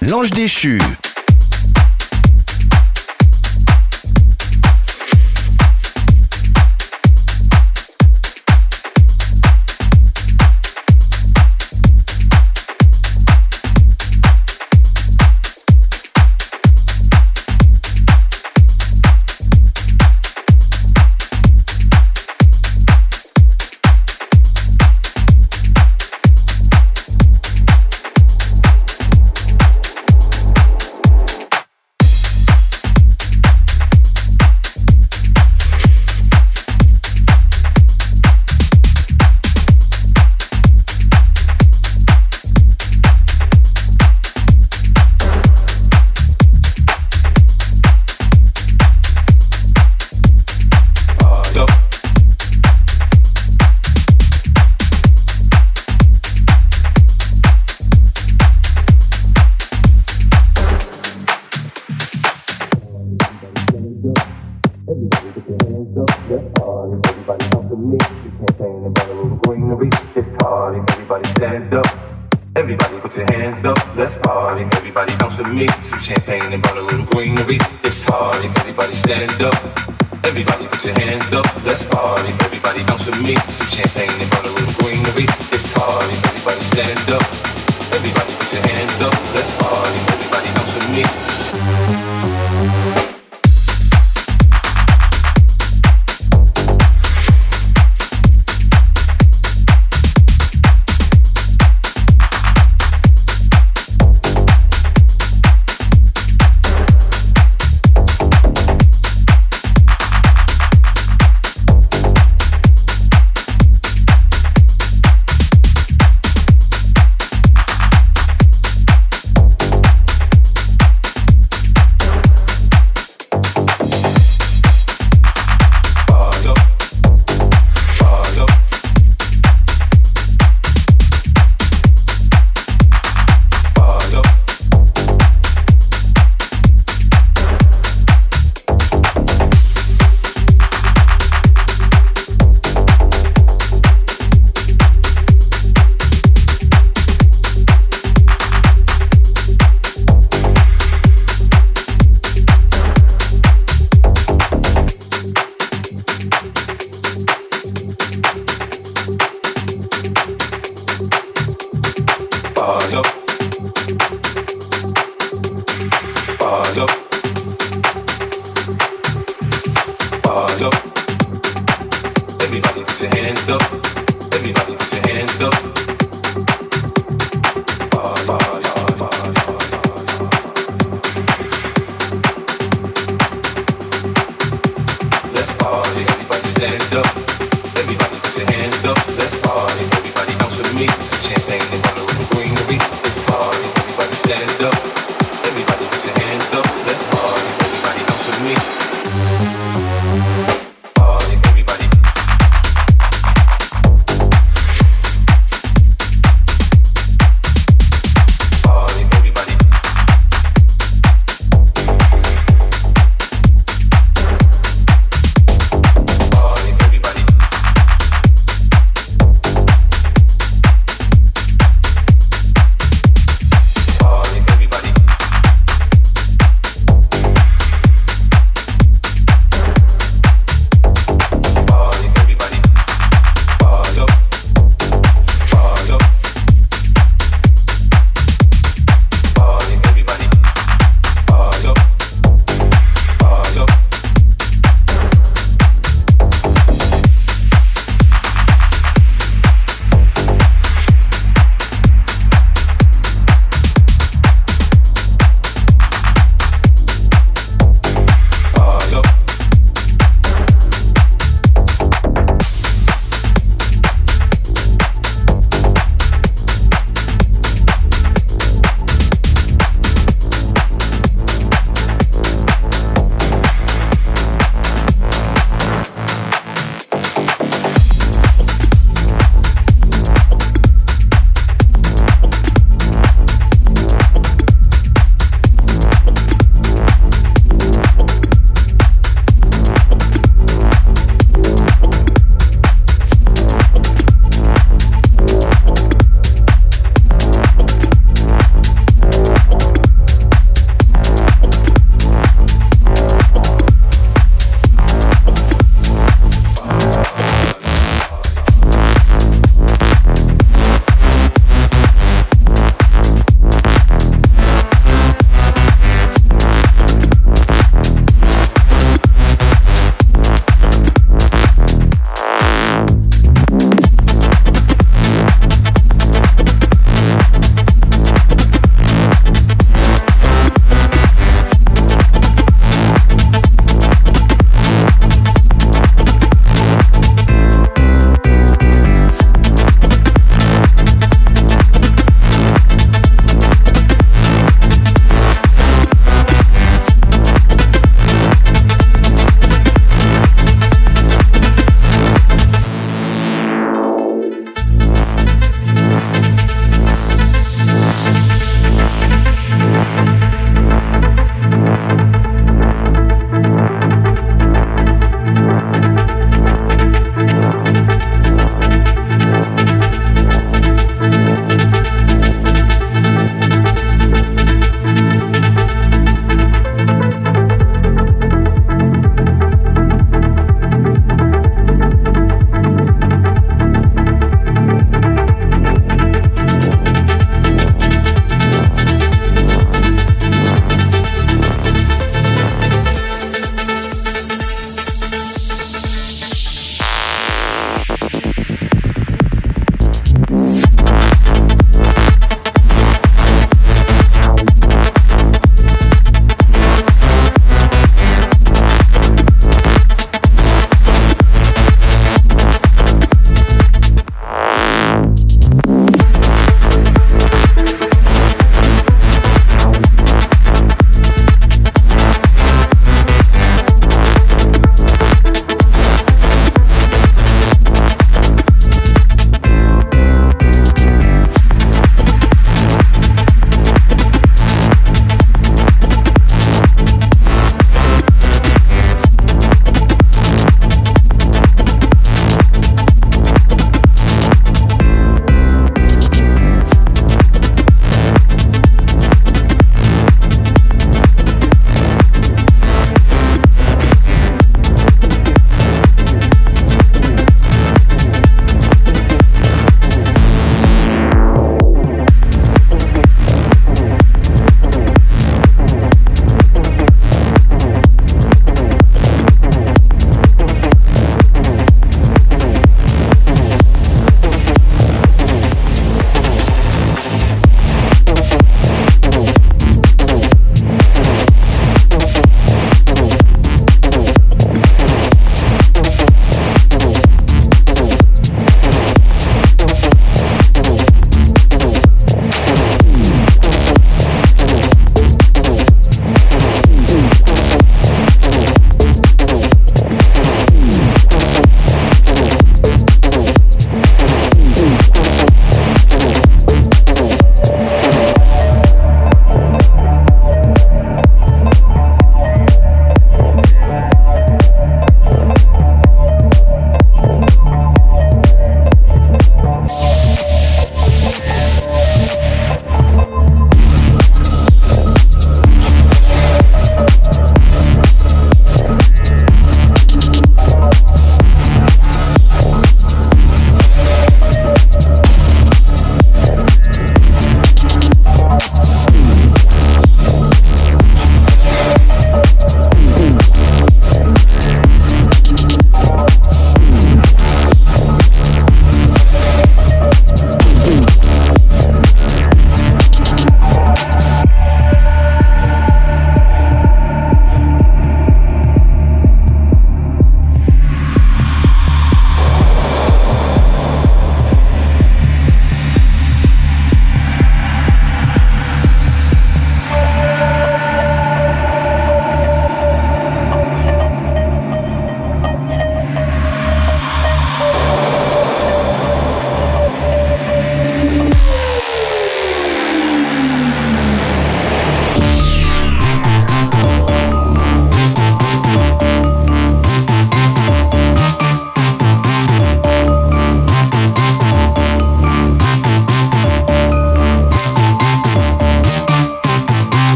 L'Ange Déchu.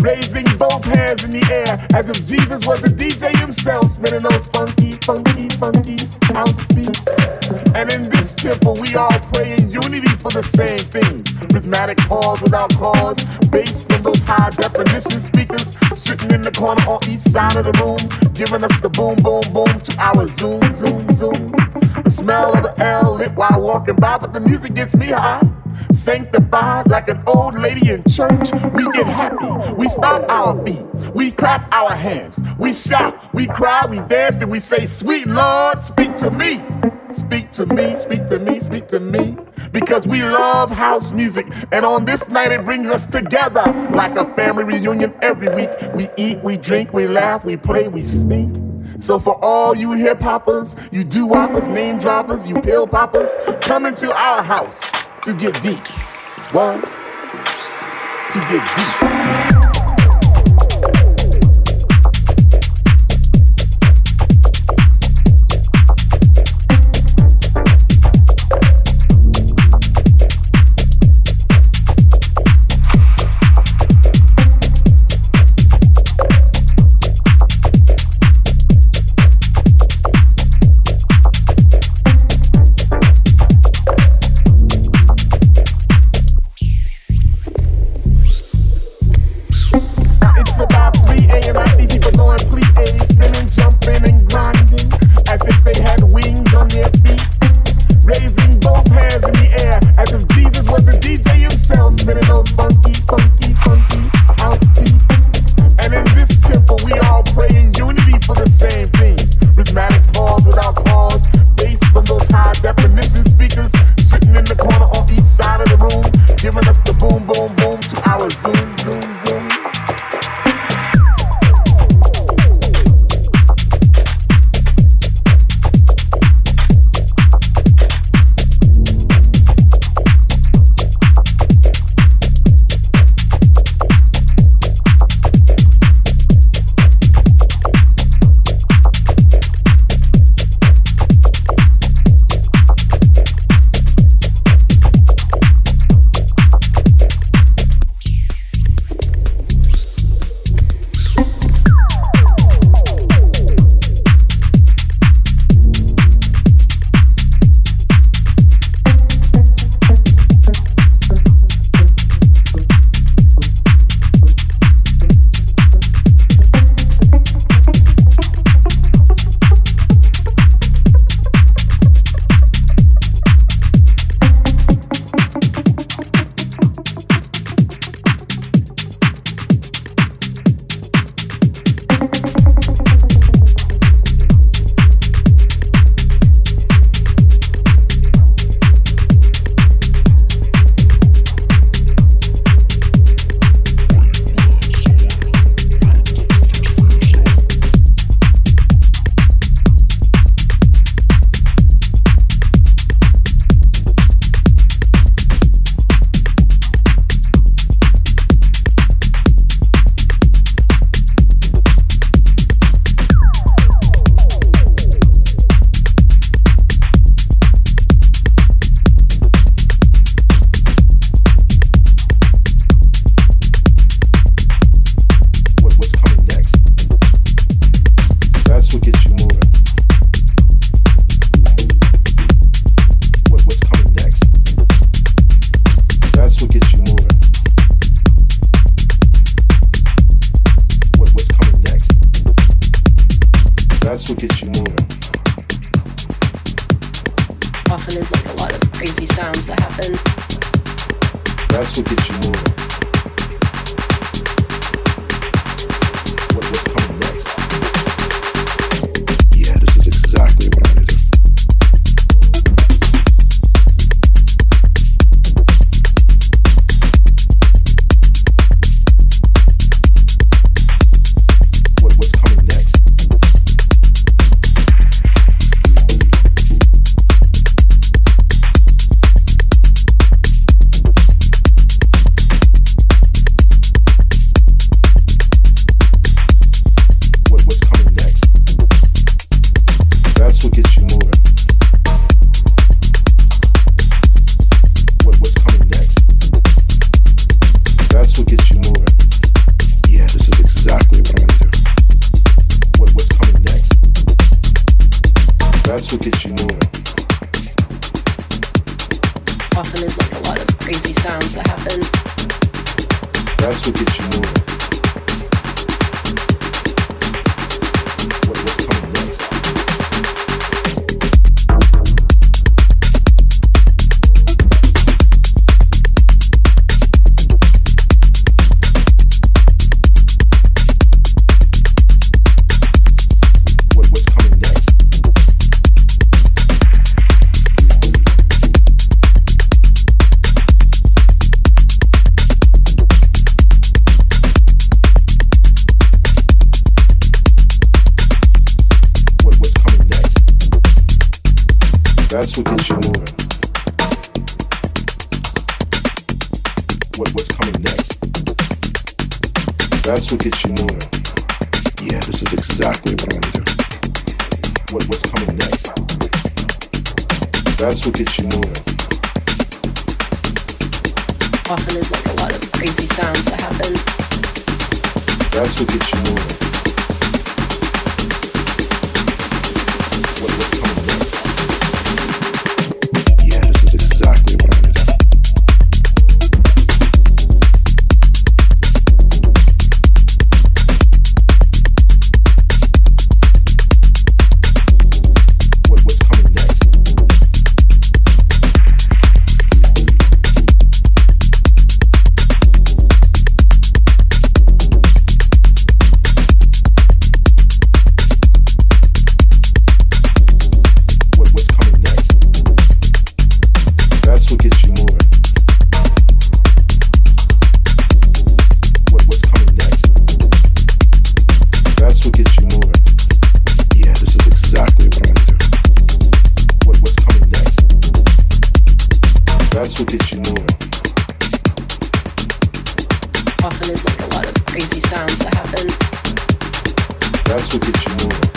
raising both hands in the air as if Jesus was a DJ himself, spinning those funky, funky, funky house beats. And in this temple, we all pray in unity for the same things. Rhythmic pause without cause, bass from those high definition speakers sitting in the corner on each side of the room, giving us the boom, boom, boom to our zoom, zoom, zoom. The smell of an L lit while walking by, but the music gets me high. Sanctified like an old lady in church. We get happy, we stomp our feet, we clap our hands, we shout, we cry, we dance, and we say, sweet Lord, speak to me. Speak to me, speak to me, speak to me. Because we love house music, and on this night it brings us together like a family reunion every week. We eat, we drink, we laugh, we play, we stink. So for all you hip hoppers, you doo-woppers, name droppers, you pill poppers, come into our house to get deep. What? To get deep. That's what gets you moving. What's coming next? Yeah, this is exactly what I'm gonna do. What's coming next? sounds that happen. That's what gets you moving. What's coming next? That's what gets you moving. What's coming next? That's what gets you moving. Yeah, this is exactly what I want to do. What's coming next? That's what gets you moving. Often there's like a lot of crazy sounds that happen. That's what gets you moving. What's coming next? Exactly what I want to do. What's coming next? What's coming next? That's what gets you moving. What's coming next? That's what gets you moving. Yeah, this is exactly what I want to do. What's coming next? That's what gets you moving. Often there's like a lot of crazy sounds that happen. That's what gets you moving.